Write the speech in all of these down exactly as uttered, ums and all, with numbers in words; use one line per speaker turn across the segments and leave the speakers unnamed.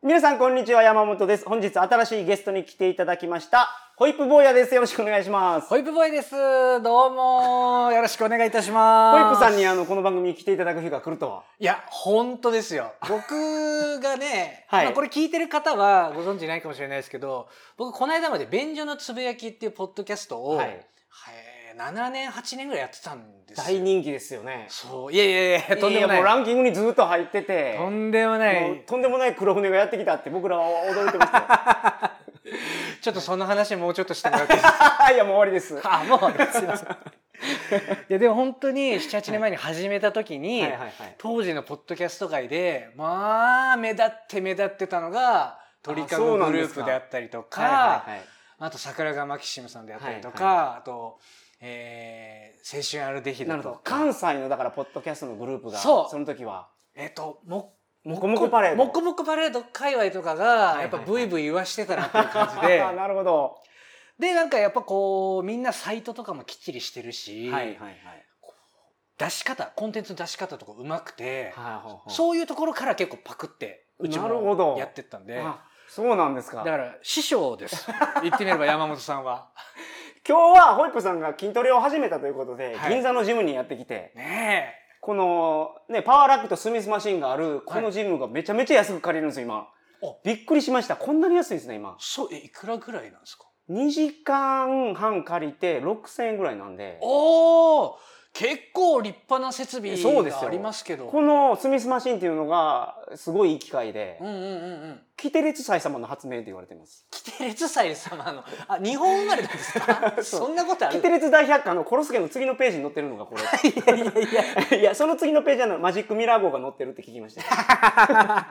皆さんこんにちは、山本です。本日新しいゲストに来ていただきましたホイップ坊やです。よろしくお願いします。
ホイップボーイです。どうもよろしくお願いいたします。
ホイップさんにあのこの番組に来ていただく日が来るとは。
いや本当ですよ。僕がね、
はい、
まあ、これ聞いてる方はご存知ないかもしれないですけど、僕この間まで便所のつぶやきっていうポッドキャストを、はいはい、ななねんはちねんぐらいやってたんですよ。
大人気ですよね。
そういやいやいやとんでもない。
いやもうランキングにずっと入ってて、
とんでもない。
とんでもない黒船がやってきたって僕らは驚いてましたよ。
ちょっとその話もうちょっとしてもらっていいですか。
いやもう終わりです。
あもうすいません。いやでも本当にななはちねんまえに始めた時に、はいはいはいはい、当時のポッドキャスト界でまあ目立って目立ってたのが鳥かごグループであったりとか、はいはいはい、あと桜川マキシムさんであったりとか、はいはい、あと、えー、青春アルデヒドとか
関西のだからポッドキャストのグループがその時は
えっ、ー、とも
もこもこパレード
もこもこパレード界隈とかがやっぱブイブイ言わしてたなっていう感じで
なるほど。
でなんかやっぱこうみんなサイトとかもきっちりしてるし、はいはいはい、出し方コンテンツの出し方とかうまくて、はいはいはい、そういうところから結構パクってうちもやってったんで。
そうなんですか。
だから師匠です言ってみれば山本さんは。
今日はホイップさんが筋トレを始めたということで、はい、銀座のジムにやってきて
ねえ
このねパワーラックとスミスマシンがあるこのジムがめちゃめちゃ安く借りるんですよ今。びっくりしました。こんなに安いんですね今。
そうえいくらぐらいなんですか。
にじかんはん借りてろくせんえんぐらいなんで。
おー結構立派な設備がありますけど。
このスミスマシンっていうのがすごいいい機械で、うんうんうんうん、キテレツ祭様の発明って言われてます。
キテレツ祭様のあ日本生まれなんですか。そんなことある。
キテレツ大百科のコロスケの次のページに載ってるのがこれ。いやいやいやいやその次のページはのマジックミラー号が載ってるって聞きました。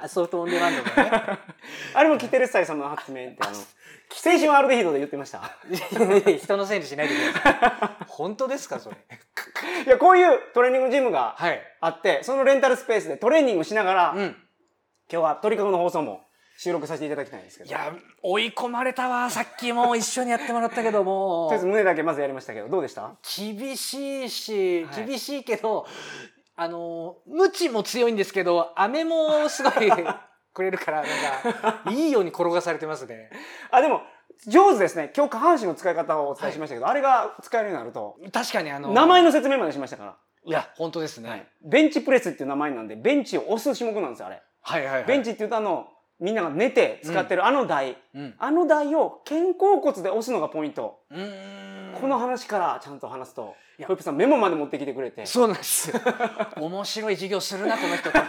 ソフトオンデマンドがね。あ
れもキテレツ祭様の発明ってあの青春アルデヒドで言ってました。
人のせいにしないでください。本当ですかそれ。
いやこういうトレーニングジムがあって、はい、そのレンタルスペースでトレーニングしながら、うん、今日は鳥かごの放送も収録させていただきたいんですけど。
いや追い込まれたわ。さっきも一緒にやってもらったけども
とりあえず胸だけまずやりましたけどどうでした。
厳しいし、はい、厳しいけどあのムチも強いんですけど飴もすごいくれるからなんかいいように転がされてますね。
あでも上手ですね。今日下半身の使い方をお伝えしましたけど、はい、あれが使えるようになると
確かにあの
名前の説明までしましたから。
いや本当ですね、はい、
ベンチプレスっていう名前なんでベンチを押す種目なんですよあれ、はいはいはい、ベンチっていうとあのみんなが寝て使ってるあの台、うん、あの台を肩甲骨で押すのがポイント。うーんこの話からちゃんと話すとホイップさんメモまで持ってきてくれて。
そうなんですよ。面白い授業するなこの人って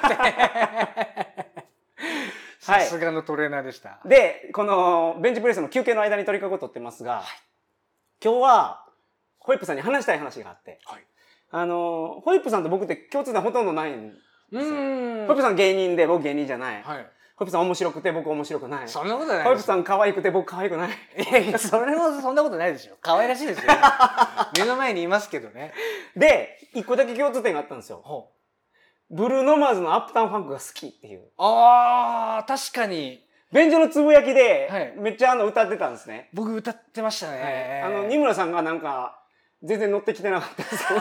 さすがのトレーナーでした。
でこのベンチプレスの休憩の間に鳥かごを取ってますが、はい、今日はホイップさんに話したい話があって、はい、あのホイップさんと僕って共通点ほとんどないんですよ。ホイップさん芸人で僕芸人じゃない、はい、ホイップさん面白くて僕面白くない。
そんなことない。
ホイップさん可愛くて僕可愛くない。
いやいやそれもそんなことないでしょ。可愛らしいですよ、ね、目の前にいますけどね。
で一個だけ共通点があったんですよ。ほうブルーノマーズのアップタウンファンクが好きっていう。
あー確かに
便所のつぶやきでめっちゃあの歌ってたんですね、はい、
僕歌ってましたね、
はい、あの二村さんがなんか全然乗ってきてなかったんですよ。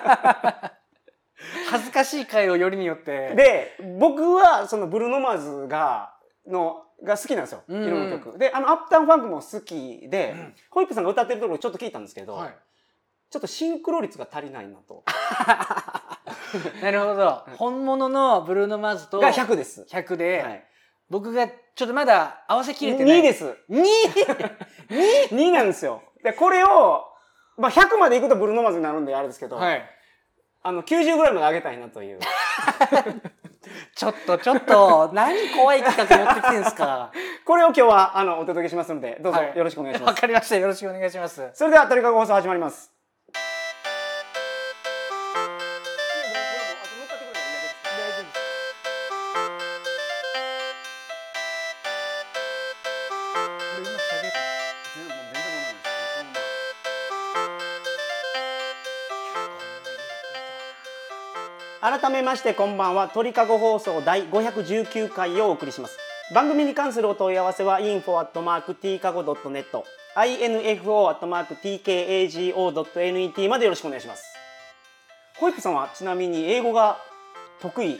恥ずかしい回をよりによって
で僕はそのブルーノマーズがのが好きなんですよ、うん、いろんな曲であのアップタウンファンクも好きで、うん、ホイップさんが歌ってるところちょっと聞いたんですけど、はい、ちょっとシンクロ率が足りないなと。
なるほど。本物のブルーノ・マーズと
がひゃくです。
ひゃくで、はい、僕がちょっとまだ合わせきれてない。
にです。に?に なんですよ。でこれをまあひゃくまでいくとブルーノ・マーズになるんであれですけど、はい、あのきゅうじゅうぐらいまで上げたいなという。
ちょっとちょっと何怖い企画持ってきてんすか。
これを今日はあのお届けしますのでどうぞよろしくお願いします。
わ、はい、かりました。よろしくお願いします。
それでは鳥かご放送始まります。改めましてこんばんは。鳥かご放送第ごひゃくじゅうきゅうかいをお送りします。番組に関するお問い合わせは インフォ アットマーク ティーカゴ ドットネット インフォ アットマーク ティーケーエージーオー ドットネット までよろしくお願いします。ホイップさんはちなみに英語が得意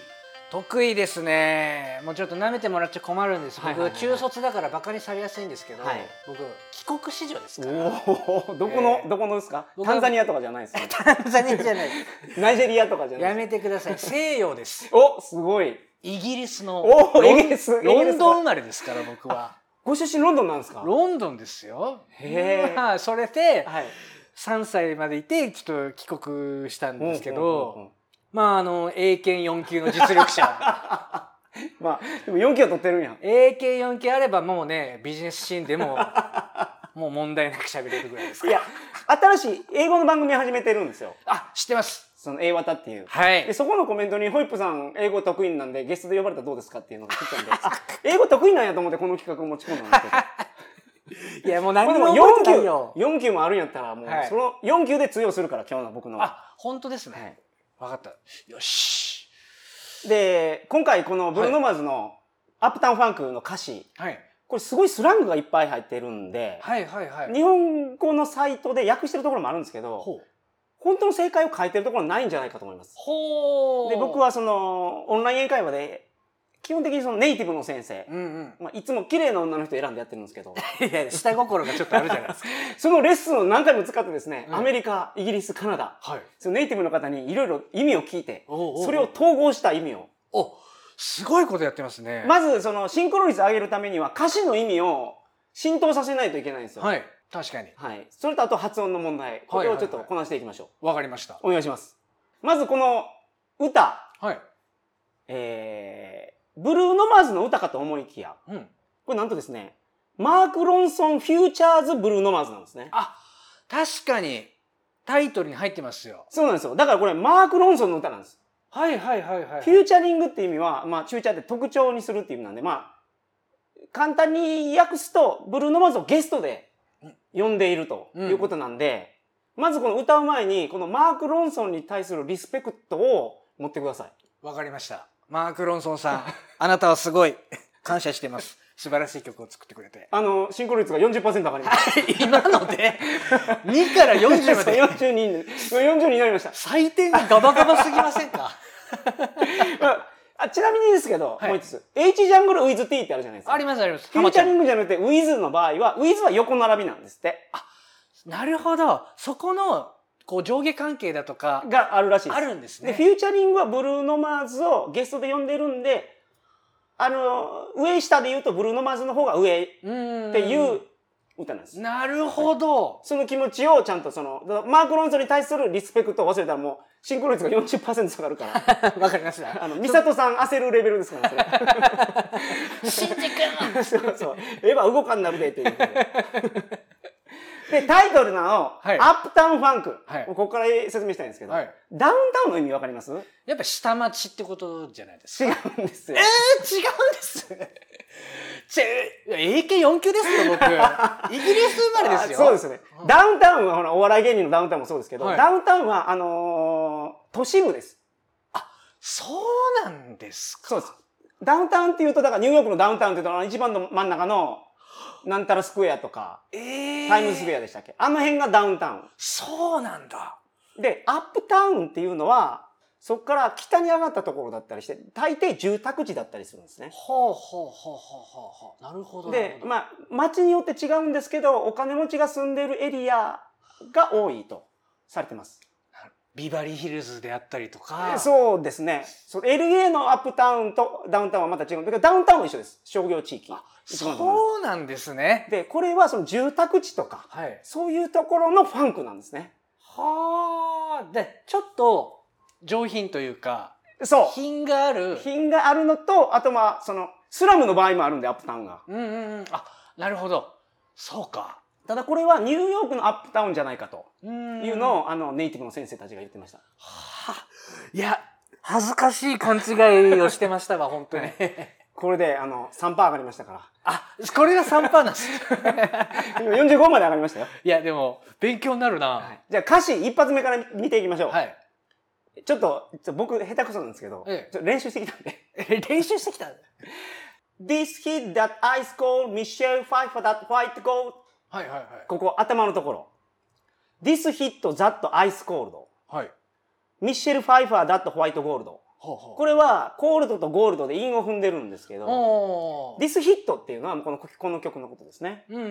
得意ですね。もうちょっと舐めてもらっちゃ困るんです。僕、はいはいはいはい、中卒だからバカにされやすいんですけど、はい、僕帰国子女ですから。
おどこの、えー、どこのですか？タンザニアとかじゃないですか？
タンザニアじゃない。
ナイジェリアとかじゃない。
やめてください。西洋です。
おすごい。
イギリスの
おイギリス
ロンドン生まれですから僕は。
ご出身ロンドンなんですか？
ロンドンですよ。
へえ。
それで、はい、さんさいまでいてちょっと帰国したんですけど。まああの英検よん級の実力者
まあでもよん級は取ってるんや。
英検よん級あればもうねビジネスシーンでももう問題なく喋れるぐらいですから。
いや新しい英語の番組始めてるんですよ。
あ知ってます。
その英和田っていう、
はい、
でそこのコメントにホイップさん英語得意なんでゲストで呼ばれたらどうですかっていうのが来たんであ英語得意なんやと思ってこの企画を持ち込んだんですけどいやもう何も覚えてないよ。よん級もあるんやったらもうそのよん級で通用するから今日の僕のは。
あ本当ですね。はい、分かった。よし。
で今回このブルーノ・マーズのアップタウンファンクの歌詞、はい、これすごいスラングがいっぱい入ってるんで、はいはいはい、日本語のサイトで訳してるところもあるんですけど本当の正解を書いてるところはないんじゃないかと思います。ほで僕はそのオンライン英会話で基本的にそのネイティブの先生、うんうんまあ、いつも綺麗な女の人選んでやってるんですけど
いや下心がちょっとあるじゃないですか
そのレッスンを何回も使ってですね、うん、アメリカイギリスカナダ、はい、そのネイティブの方にいろいろ意味を聞いておうおうおうそれを統合した意味を
おすごいことやってますね。
まずそのシンクロ率を上げるためには歌詞の意味を浸透させないといけないんですよ。
はい確かに、はい、
それとあと発音の問題これをちょっとこなしていきましょう。
わ、はいはいはい、かりました。
お願いします。まずこの歌、はいえーブルーノ・マーズの歌かと思いきや、うん、これなんとですね、マーク・ロンソン・フューチャーズ・ブルーノ・マーズなんですね。
あ、確かにタイトルに入ってますよ。
そうなんですよ。だからこれマーク・ロンソンの歌なんです。
はいはいはいはい、はい。
フューチャリングっていう意味は、まあフューチャーって特徴にするっていう意味なんで、まあ簡単に訳すとブルーノ・マーズをゲストで呼んでいるということなんで、うん、まずこの歌う前にこのマーク・ロンソンに対するリスペクトを持ってください。
わかりました。マーク・ロンソンさん、あなたはすごい感謝してます。素晴らしい曲を作ってくれて。
あの、シンクロ率が よんじゅっパーセント 上がりました。
今のでにからよんじゅうまで。
よんじゅうに、よんじゅうにになりました。
採点がガバガバすぎませんか
あちなみにですけど、はい、もう一つ。H ジャングル with T ってあるじゃないですか。
ありますあります。
フューチャリングじゃなくて with の場合は、with は横並びなんですって。
あ、なるほど。そこの、こう上下関係だとか
があるらしいです。
あるんですね。
で、フューチャリングはブルーノ・マーズをゲストで呼んでるんで、あの、上下で言うとブルーノ・マーズの方が上っていう歌なんです。
なるほど、
はい。その気持ちをちゃんとその、マーク・ロンソンに対するリスペクトを忘れたらもう、シンクロ率が よんじゅっパーセント 下がるから。
わかりました。
あの、ミサトさん焦るレベルですから、それ。
シンジ君
そうそう。エヴァ動かんなるでっていう。で、タイトルなの、はい、アップタウンファンク。はい、ここから説明したいんですけど、はい、ダウンタウンの意味わかります？
やっぱ下町ってことじゃないです
か。違うんですよ。
えー、違うんです。ちぇ、エーケーよん 級ですよ、僕。イギリス生まれですよ。
そうですね。うん、ダウンタウンはほら、お笑い芸人のダウンタウンもそうですけど、はい、ダウンタウンは、あのー、都市部です。
あ、そうなんですか。
そうです。ダウンタウンっていうと、だからニューヨークのダウンタウンっていうと、一番の真ん中の、なんたらスクエアとか、えー、タイムズスクエアでしたっけ？あの辺がダウンタウン。
そうなんだ。
で、アップタウンっていうのは、そこから北に上がったところだったりして、大抵住宅地だったりするんですね。
ほうほうほうほうほう。なるほど。
で、まあ、町によって違うんですけど、お金持ちが住んでるエリアが多いとされてます。
ビバリーヒルズであったりとか。
そうですね。エルエー のアップタウンとダウンタウンはまた違うんだけど、ダウンタウンは一緒です。商業地域。
そうなんですね。
で、これはその住宅地とか、はい、そういうところのファンクなんですね。
はあ。で、ちょっと上品というか、
そう。
品がある。
品があるのと、あとまあ、その、スラムの場合もあるんで、アップタウンが。
うんうんうん。あ、なるほど。そうか。
ただこれはニューヨークのアップタウンじゃないかというのを、あの、ネイティブの先生たちが言ってました。
はあ。いや、恥ずかしい勘違いをしてましたわ、本当に。
これで、あの、さんパーセント 上がりましたから。
あ、これが さんパーセント なんです。
今よんじゅうごまで上がりましたよ。
いや、でも、勉強になるな。はい、
じゃあ歌詞一発目から見ていきましょう。はい。ちょっと、ちょ僕、下手くそなんですけど、ええ、ちょ練習してきたんで。
練習してきた
?This hit that ice cold, Michelle Pfeiffer that white gold.
はいはいはい。
ここ、頭のところ。This hit that ice cold. はい。Michelle Pfeiffer that white gold.
ほうほう。
これはコールドとゴールドで韻を踏んでるんですけど、ディスヒットっていうのはこのこの曲のことですね。うん、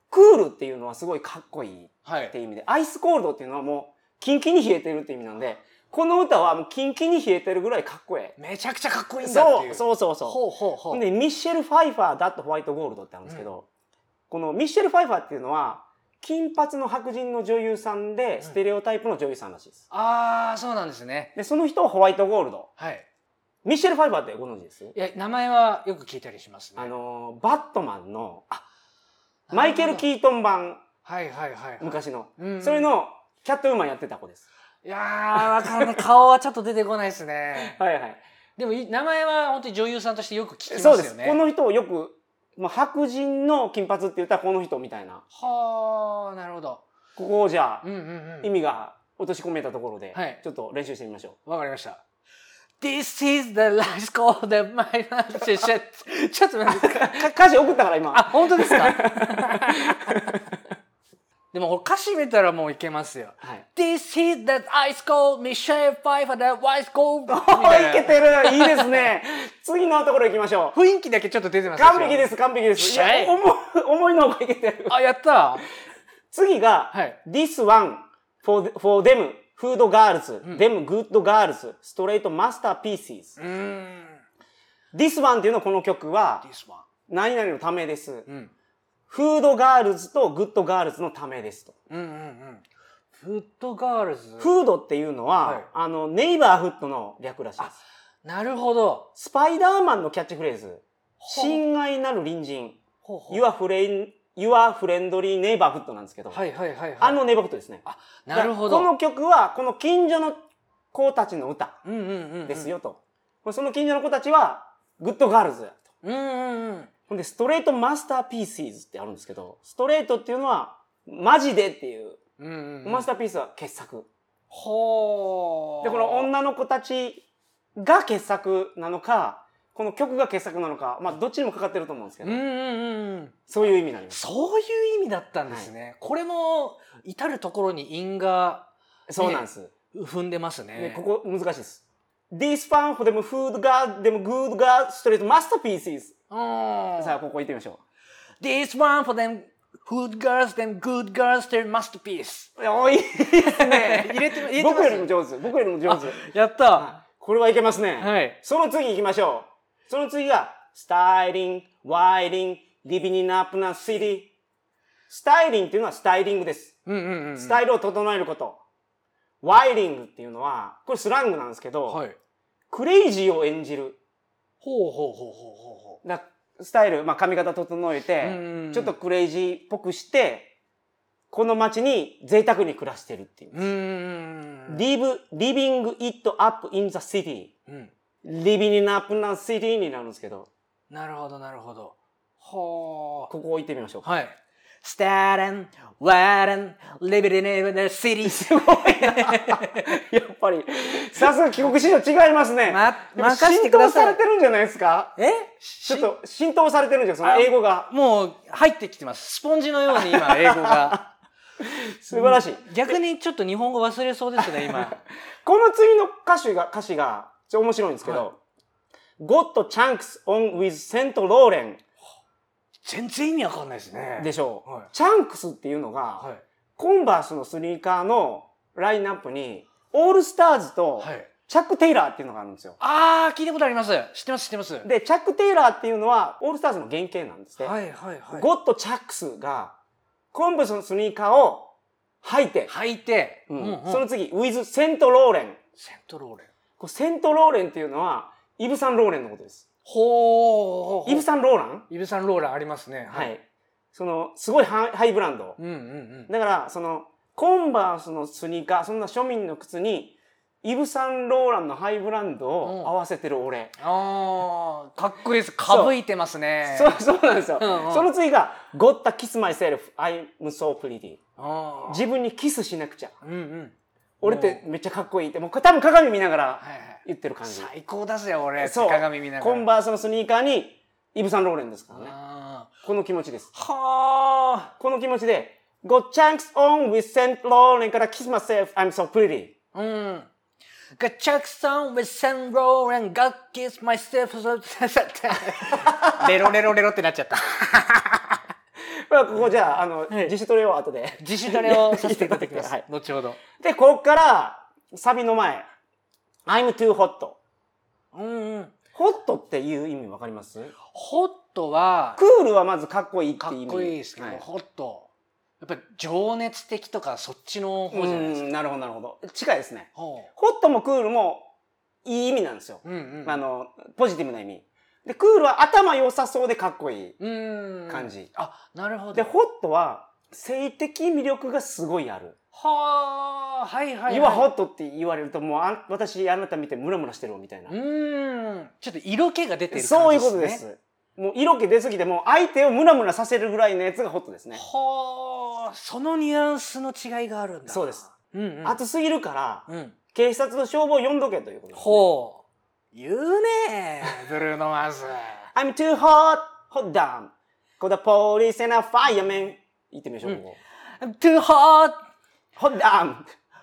クールっていうのはすごいかっこいいっていう意味で、はい、アイスコールドっていうのはもうキンキンに冷えてるっていう意味なんで、この歌はもうキンキンに冷えてるぐらいかっこええ。
めちゃくちゃかっこいいんだっていう。
そうそうそうそう。ほうほうほう。でミッシェル・ファイファーだとホワイトゴールドってあるんですけど、うん、このミッシェル・ファイファーっていうのは金髪の白人の女優さんでステレオタイプの女優さんらしいです。
うん、ああ、そうなんですね。
でその人はホワイトゴールド。
はい。
ミッシェル・ファイファーってご存知です？い
や、名前はよく聞いたりしますね。
あのバットマンのマイケル・キートン版、
はいはいはい、はい、
昔の、うん、それのキャットウーマンやってた子です。
いやー、わかんない。顔はちょっと出てこないですね。
はいはい。
でも名前は本当に女優さんとしてよく聞きますよね。
そうです。この人をよく、まあ、白人の金髪って言ったらこの人みたいな。
はあ、なるほど。
ここをじゃあ、うんうんうん、意味が落とし込めたところで、はい、ちょっと練習してみましょ
う。わかりました。This is the last call that my life is shit. ちょっと待って。
歌詞送ったから今。
あ、本当ですか？でも歌詞見たらもういけますよ。はい、This is that ice cold Michelle Pfeiffer that ice cold.
いけてる。いいですね。次のところ行きましょ
う。雰囲気だけちょっと出てます。
完璧です、完璧です。いや、思, 思いのほかいけてる。
あ、やった。
次が、はい、This one for, for them, food girls, them good girls, straight masterpieces. うーん This one っていうのはこの曲は、何々のためです。うん、フードガールズとグッドガールズのためですと。うんうんうん。
フッドガールズ。
フードっていうのは、はい、あの、ネイバーフッドの略らしいです。
なるほど。
スパイダーマンのキャッチフレーズ。親愛なる隣人。ほうほう Your friend, Your friendly neighborhood なんですけど。はいはいはい、はい。あのネイバーフッドですね。あ、
なるほど。
この曲は、この近所の子たちの歌ですよと。その近所の子たちは、グッドガールズやと。うんうんうん。ほんで、ストレートマスターピーシーズってあるんですけど、ストレートっていうのは、マジでっていう、うんうんうん、マスターピースは傑作。ほー。で、この女の子たちが傑作なのか、この曲が傑作なのか、まあ、どっちにもかかってると思うんですけど、うんうんうん、そういう意味になります。
そういう意味だったんですね。はい、これも、至るところに韻が、
ね、そうなんです。
踏んでますね。
ね、ここ難しいです。This fun for them food god, them good god, straight masterpieces. さあ、ここ行ってみましょ
う。This one for them good girls, them good girls, their masterpiece.
おいいですね。入れて、入れてます。僕よりも上手。僕よりも上手。
やった。
これはいけますね。はい。その次行きましょう。その次が、styling, whiling, living in up na city. スタイリングっていうのはスタイリングです。うんうんうんうん、スタイルを整えること。whiling っていうのは、これスラングなんですけど、はい、クレイジーを演じる。
ほうほうほうほうほうほう。
だスタイル、まあ、髪型整えて、ちょっとクレイジーっぽくして、この街に贅沢に暮らしてるっていう。live, living it up in the city、うん、living in up in the city になるんですけど。
なるほど、なるほど。ほ
ー。ここ行ってみましょう。
はい。Staring, waiting, living in the city.
すごいな。やっぱり、さすが帰国子女違いますね。ま、任せてください。浸透されてるんじゃないですか？え？ちょっと浸透されてるんじゃん、その英語が。
もう入ってきてます。スポンジのように今、英語が。
素晴らしい。
逆にちょっと日本語忘れそうですね、今。
この次の歌詞が、歌詞が、ちょっと面白いんですけど、はい、Got chunks on with Saint Laurent。
全然意味わかんないですね。
でしょう。はい、チャンクスっていうのが、はい、コンバースのスニーカーのラインナップに、オールスターズと、チャック・テイラーっていうのがあるんですよ。
ああ、聞いたことあります。知ってます、知ってます。
で、チャック・テイラーっていうのは、オールスターズの原型なんですね。はいはいはい。ゴッド・チャックスが、コンバースのスニーカーを履いて、
履いて、
うんうんうん、その次、ウィズ・セント・ローレン。
セント・ローレン。
こセント・ローレンっていうのは、イヴ・サン・ローレンのことです。
ほー。
イヴ・サン・ローラン？
イヴ・サン・ローランありますね。
はい。はい、その、すごいハイブランド。うんうんうん。だから、その、コンバースのスニーカー、そんな庶民の靴に、イヴ・サンローランのハイブランドを合わせてる俺。
ああ、かっこいいです。かぶいてますね。
そう、そうなんですよ。うんうん、その次が、Got to kiss myself, I'm so pretty。自分にキスしなくちゃ。うんうん、俺ってめっちゃかっこいいって、もう多分鏡見ながら言ってる感じ。
はいはい、最高だぜ、俺。そう。鏡見ながら。
コンバースのスニーカーに、イヴ・サンローレンですからね。この気持ちです。はあ。この気持ちで、Got chunks on with Saint Laurent から kiss myself, I'm so pretty。うん。
Got Chuck Song with San Row and God kiss myself レロレロレロってなっちゃった
ここじゃあ、あの、はい、自主トレを後で。
自主トレをさせていただきます。はい、後ほど。
で、ここから、サビの前。I'm too hot。
うんうん。
ホットっていう意味わかります？
ホットは、
クールはまずかっこいいっていう意味。
かっこいいですけど、はい、ホット。やっぱり情熱的とかそっちの方じゃないですか。
なるほどなるほど。近いですね。ホットもクールもいい意味なんですよ。うんうん、あの、ポジティブな意味。で、クールは頭良さそうでかっこいい感じ。
あ、なるほど。
で、ホットは性的魅力がすごいある。
はあ、はいはいはい。
You are hotって言われるともうあ私あなた見てムラムラしてるみたいな。
うん。ちょっと色気が出てる感じですね。
そういうことです。もう色気出すぎてもう相手をムラムラさせるぐらいのやつがホットですね。
はあ、そのニュアンスの違いがあるんだ。
そうです。
うんうん、
暑すぎるから、うん、警察と消防呼んどけということです、ね。
ほう。言うねー、ブルーノマーズ。
I'm too hot, hot down. Call the police and a fireman. 言ってみましょう、うん、こ
こ。I'm too hot,
hot down.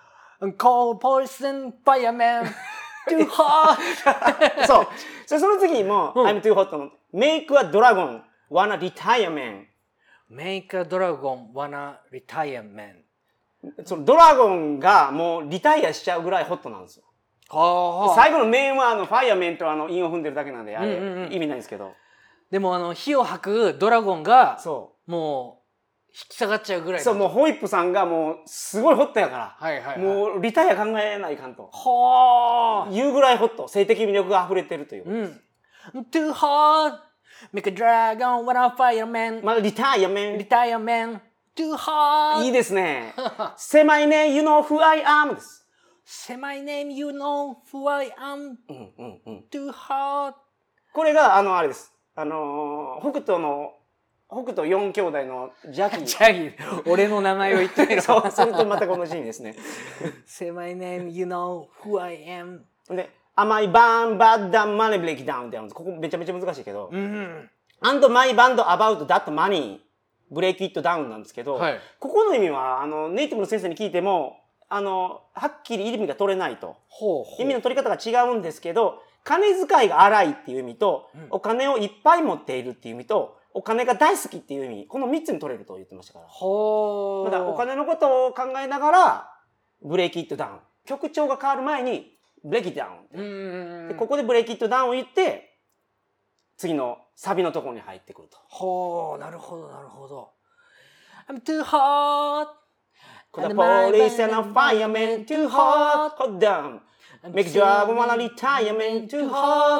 Call police and fireman. too hot.
そう。その次も、うん、I'm too hot の Make a dragon wanna retire man.
Make a dragon wanna retire man.
そのドラゴンがもうリタイアしちゃうぐらいホットなんですよ。はあ、最後のメンはあのファイアメンとあの韻を踏んでるだけなんであれ、うんうんうん、意味ないんですけど。
でもあの火を吐くドラゴンがそうもう引き下がっちゃうぐらい。
そうもうホイップさんがもうすごいホットやから、はいはいはい、もうリタイア考えないかんと。はあ。いうぐらいホット、性的魅力が溢れてるという。うん。
Too hot, make a dragon wanna fireman.
まあリタイアメン。
リタイアメン。Too hot.
いいですね。Say my name, you know who I am です。
Say my name, you know who I am.
うんうんうん。
Too hot.
これがあのあれです。あのー、北斗の北斗四兄弟のジャギー。
ジャギー。俺の名前を言ってみろ。
そうするとまたこのシーンですね。
Say my name, you know who I am.
で、Am I band bad that money break down ってあるんです。ここめちゃめちゃ難しいけど。うん。And my band about that money break it down なんですけど、はい、ここの意味はあのネイティブの先生に聞いてもあのはっきり意味が取れないと。ほうほう。意味の取り方が違うんですけど、金遣いが荒いっていう意味と、うん、お金をいっぱい持っているっていう意味と、お金が大好きっていう意味、このみっつに取れると言ってましたから。ほー。だからお金のことを考えながら、ブレイキットダウン。曲調が変わる前に、ブレイキットダウン。うんでここでブレイキットダウンを言って、次のサビのところに入ってくると。
ほー、なるほど、なるほど。I'm too hot.
The police and a fireman too hot. Hot down. Make job wanna retire man too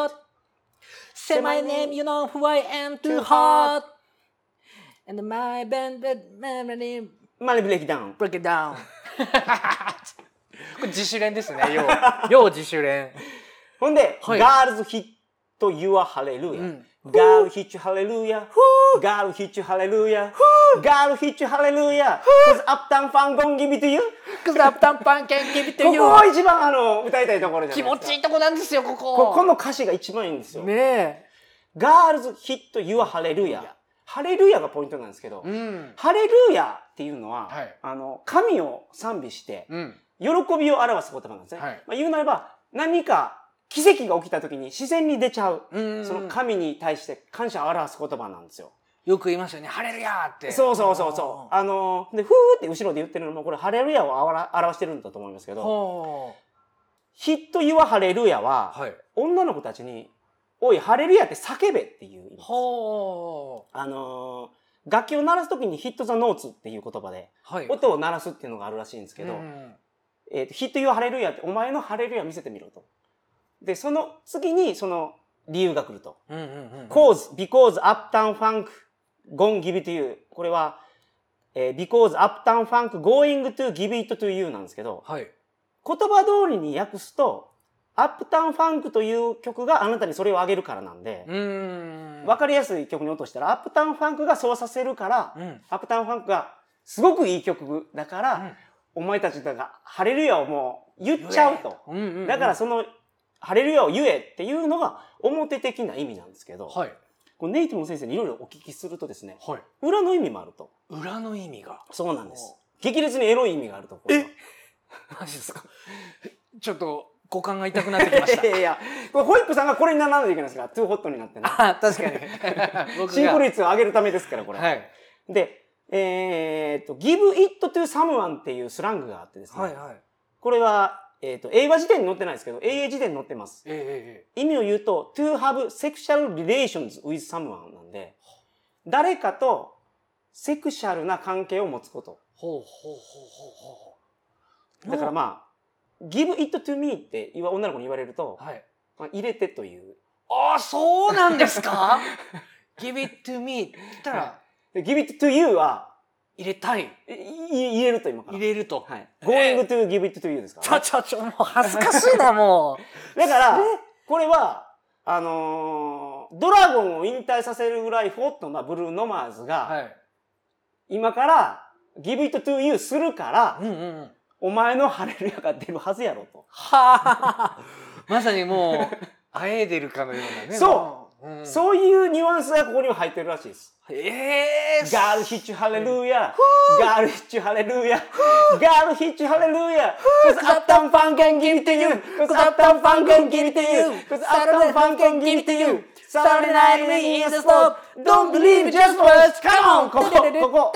hot.Say my name, you know who I am, too hot. And my band, money, money break it down.
Break it down. これ自主練ですね、要は。要自主練。
ほんで、はい、Girls hit your hallelujah.、うん、Girl hit you hallelujah.Girl hit you hallelujah.Girl hit you hallelujah.Cause uptown fun gon' give it to you.Cause
uptown fun can give it to you.
ここは一番あの歌いたいところじゃないですか。
気持ちいいとこなんですよ、ここ。
ここの歌詞が一番いいんですよ。ねえ。Girls hit your hallelujah。ハレルヤがポイントなんですけど、うん、ハレルヤっていうのは、はい、あの神を賛美して、うん、喜びを表す言葉なんですね。はい、まあ、言うなれば何か奇跡が起きた時に自然に出ちゃう、うんうん、その神に対して感謝を表す言葉なんですよ。
よく言いますよね、ハレルヤって。
そうそうそうそう。あのでふーって後ろで言ってるのもこれハレルヤを表してるんだと思いますけど、ヒット・ユア・ハレルヤは、はい、女の子たちにおい、ハレルヤって叫べっていう意味です。ほー。あのー、楽器を鳴らすときにヒット・ザ・ノーツっていう言葉で、はい、音を鳴らすっていうのがあるらしいんですけど、うん、えーと、ヒット・ユア・ハレルヤってお前のハレルヤ見せてみろと。で、その次にその理由が来ると。うんうんうんうん、cause, because uptown funk gonna give it to you. これは、えー、because uptown funk going to give it to you なんですけど、はい、言葉通りに訳すと、アップタウンファンクという曲があなたにそれをあげるからなんで、うーん分かりやすい曲に落としたら、アップタウンファンクがそうさせるから、うん、アップタウンファンクがすごくいい曲だから、うん、お前たちがハレルヤをもう言っちゃうと。うんうんうん、だからそのハレルヤを言えっていうのが表的な意味なんですけど、はい、このネイティブの先生にいろいろお聞きするとですね、はい、裏の意味もあると。
裏の意味が
そうなんです。激烈にエロい意味があると。
えマジですかちょっと股間が痛くなってきました。
いやいや、これホイップさんがこれにならないといけないですから、トゥーホットになってね。
あ、確かに。
シンクロ率を上げるためですから、これ。
はい。
で、えー、っと、give it to someone っていうスラングがあってですね。はいはい。これは、えー、っと、英和辞典に載ってないですけど、英英辞典に載ってます。えー、意味を言うと、to have sexual relations with someone なんで、誰かとセクシャルな関係を持つこと。ほうほうほうほうほう。だからまあ、give it to me って女の子に言われると、はい、まあ、入れてという。
ああ、そうなんですかgive it to me って言ったら、はい、
give it to you は
入れたい。
入れると今から。
入れると。
はい。going to give it to you ですから、
ね。ちょちょちょ、もう恥ずかしいな、も
う。だから、これは、あのー、ドラゴンを引退させるぐらいホットなブルーノマーズが、はい、今から give it to you するから、うんうんうん、お前のハレルヤが出るはずやろと。
はぁまさにもう、あえいでるかのようなね。
そう、うん、そういうニュアンスがここには入ってるらしいです。
えー、
ガールヒッチハレルヤ、ガールヒッチハレルヤ、ガールヒッチハレルヤ、cause uptown funk can give it to you, cause uptown funk can give it to you, cause uptown funk can give it to you, Saturday night we in the stop, don't believe it, just watch, come on! ここ、ここ。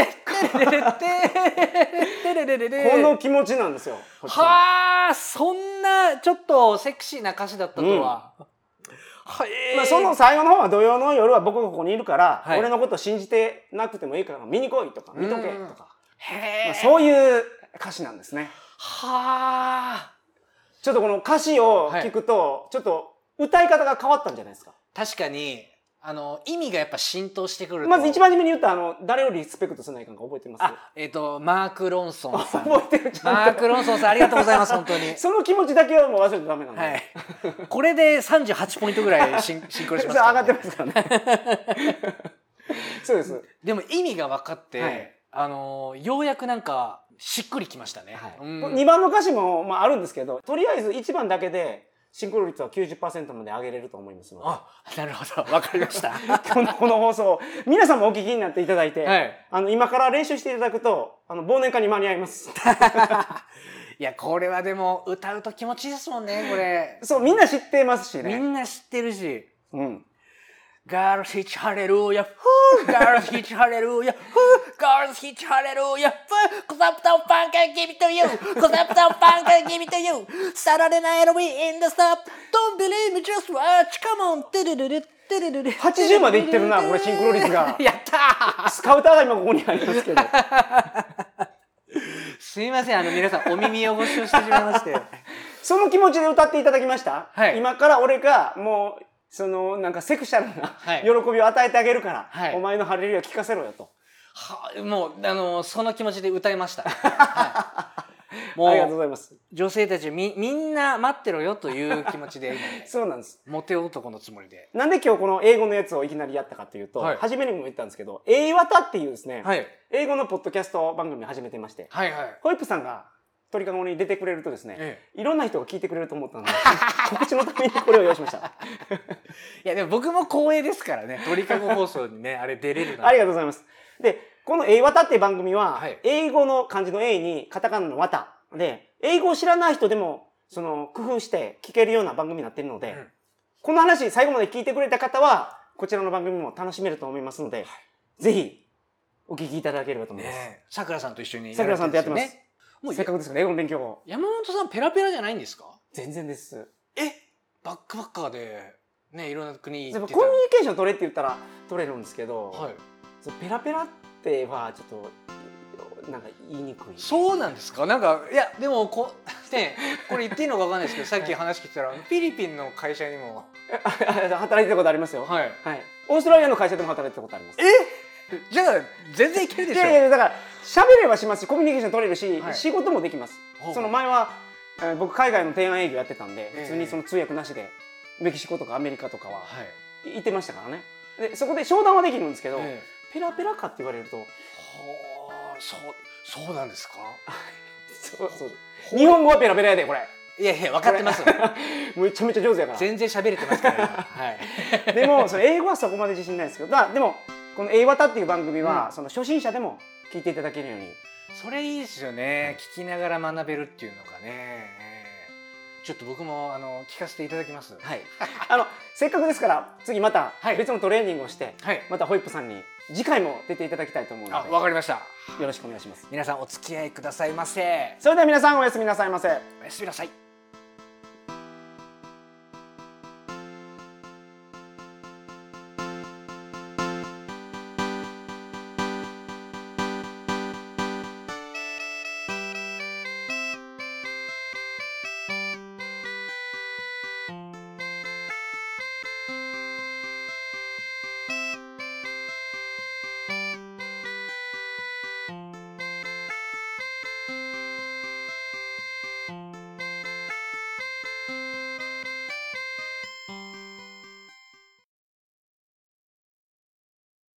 この気持ちなんですよ。
はぁ、そんなちょっとセクシーな歌詞だったとは。うん、
はい、まあその最後の方は土曜の夜は僕がここにいるから、はい、俺のこと信じてなくてもいいから見に来いとか見とけとか、まあ、そういう歌詞なんですね。はあ。ちょっとこの歌詞を聞くと、ちょっと歌い方が変わったんじゃないですか。
確かにあの意味がやっぱ浸透してくると。
まず一番初めに言ったあの誰よりリスペクトせないかんか覚えてます？
あ、えっとマーク・ロンソンさん。
覚えてる。ちゃんと
マーク・ロンソンさんありがとうございます本当に。
その気持ちだけはもう忘れてダメなんで。はい。
これでさんじゅうはちポイントぐらいシンシンクロしますから、
ね。上がってますからね。そうです。
でも意味が分かって、はい、あのようやくなんかしっくりきましたね。はい、
うん、にばんの歌詞もまああるんですけど、とりあえずいちばんだけで。シンクロ率は きゅうじゅっパーセント まで上げれると思いますので。
あ、なるほど。わかりました。
この、この放送、皆さんもお聞きになっていただいて、はい、あの、今から練習していただくと、あの、忘年会に間に合います。
いや、これはでも、歌うと気持ちいいですもんね、これ。
そう、みんな知ってますしね。
みんな知ってるし。うん。Girls hitch hallelujah, girls hitch hallelujah, girls hitch hallelujah, cause uptown funk can give it to you, cause uptown funk can give it to you, Saturday night we in the stop, don't believe me, just watch, come on,
はちじゅうまでいってるな、これシンクロ率が。
やったー。
スカウターが今ここにありますけど。
すいません、あの皆さんお耳汚しをしてしまいまして。
その気持ちで歌っていただきました、はい、今から俺がもう、そのなんかセクシャルな喜びを与えてあげるから、はい、お前のハレルヤ聞かせろよと。
はもうあのその気持ちで歌いました。はい、もうありがとうございます。女性たちみみんな待ってろよという気持ちで今、ね、
そうなんです。
モテ男のつもりで。
なんで今日この英語のやつをいきなりやったかというと、はい、初めにも言ったんですけど、英和田っていうですね、はい、英語のポッドキャスト番組を始めてまして、はいはい、ホイップさんが鳥かごに出てくれるとですね、ええ、いろんな人が聞いてくれると思ったので告知のためにこれを用意しました。い
やでも僕も光栄ですからね、鳥かご放送にねあれ出れる
ありがとうございます。でこの「英和田」っていう番組は、はい、英語の漢字の「英」にカタカナの「和田」で英語を知らない人でもその工夫して聞けるような番組になっているので、うん、この話最後まで聞いてくれた方はこちらの番組も楽しめると思いますので、はい、ぜひお聞きいただければと思います。
さくらさんと一緒に
さくらさんとやってます。もうせっかくですから英語の勉強を。
山本さんペラペラじゃないんですか？
全然です。
え、バックパッカーでねいろんな国行って
た。コミュニケーション取れって言ったら取れるんですけど、はい、ペラペラってはちょっとなんか言いにくい。
そうなんですか？なんかいやでもこねこれ言っていいのかわかんないですけど、さっき話聞いたらフィリピンの会社にも
働いてたことありますよ。はい。はい。オーストラリアの会社でも働いてたことあります。
え？じゃあ全然いけるでしょ。
いやいやだから喋ればしますし、コミュニケーション取れるし、はい、仕事もできます。その前は、えー、僕海外の提案営業やってたんで、普通にその通訳なしでメキシコとかアメリカとかは行ってましたからね。でそこで商談はできるんですけど、えー、ペラペラかって言われると、は
あ、そうそうなんですか。
そうそう。日本語はペラペラやでこれ。
いやいや分かってます。
めちゃめちゃ上手やから。
全然喋れてますから今。はい。
でもその英語はそこまで自信ないですけど、だでも。この「英和田」っていう番組は、うん、その初心者でも聞いていただけるように。
それいいですよね。聞きながら学べるっていうのがね。 ちょっと僕もあの聞かせていただきます。
はい。あのせっかくですから次また別のトレーニングをして、はい、またホイップさんに次回も出ていただきたいと思うので。
あ、わかりました。
よろしくお願いします。
皆さんお付き合いくださいませ。
それでは皆さんおやすみなさいませ。
おやすみなさい。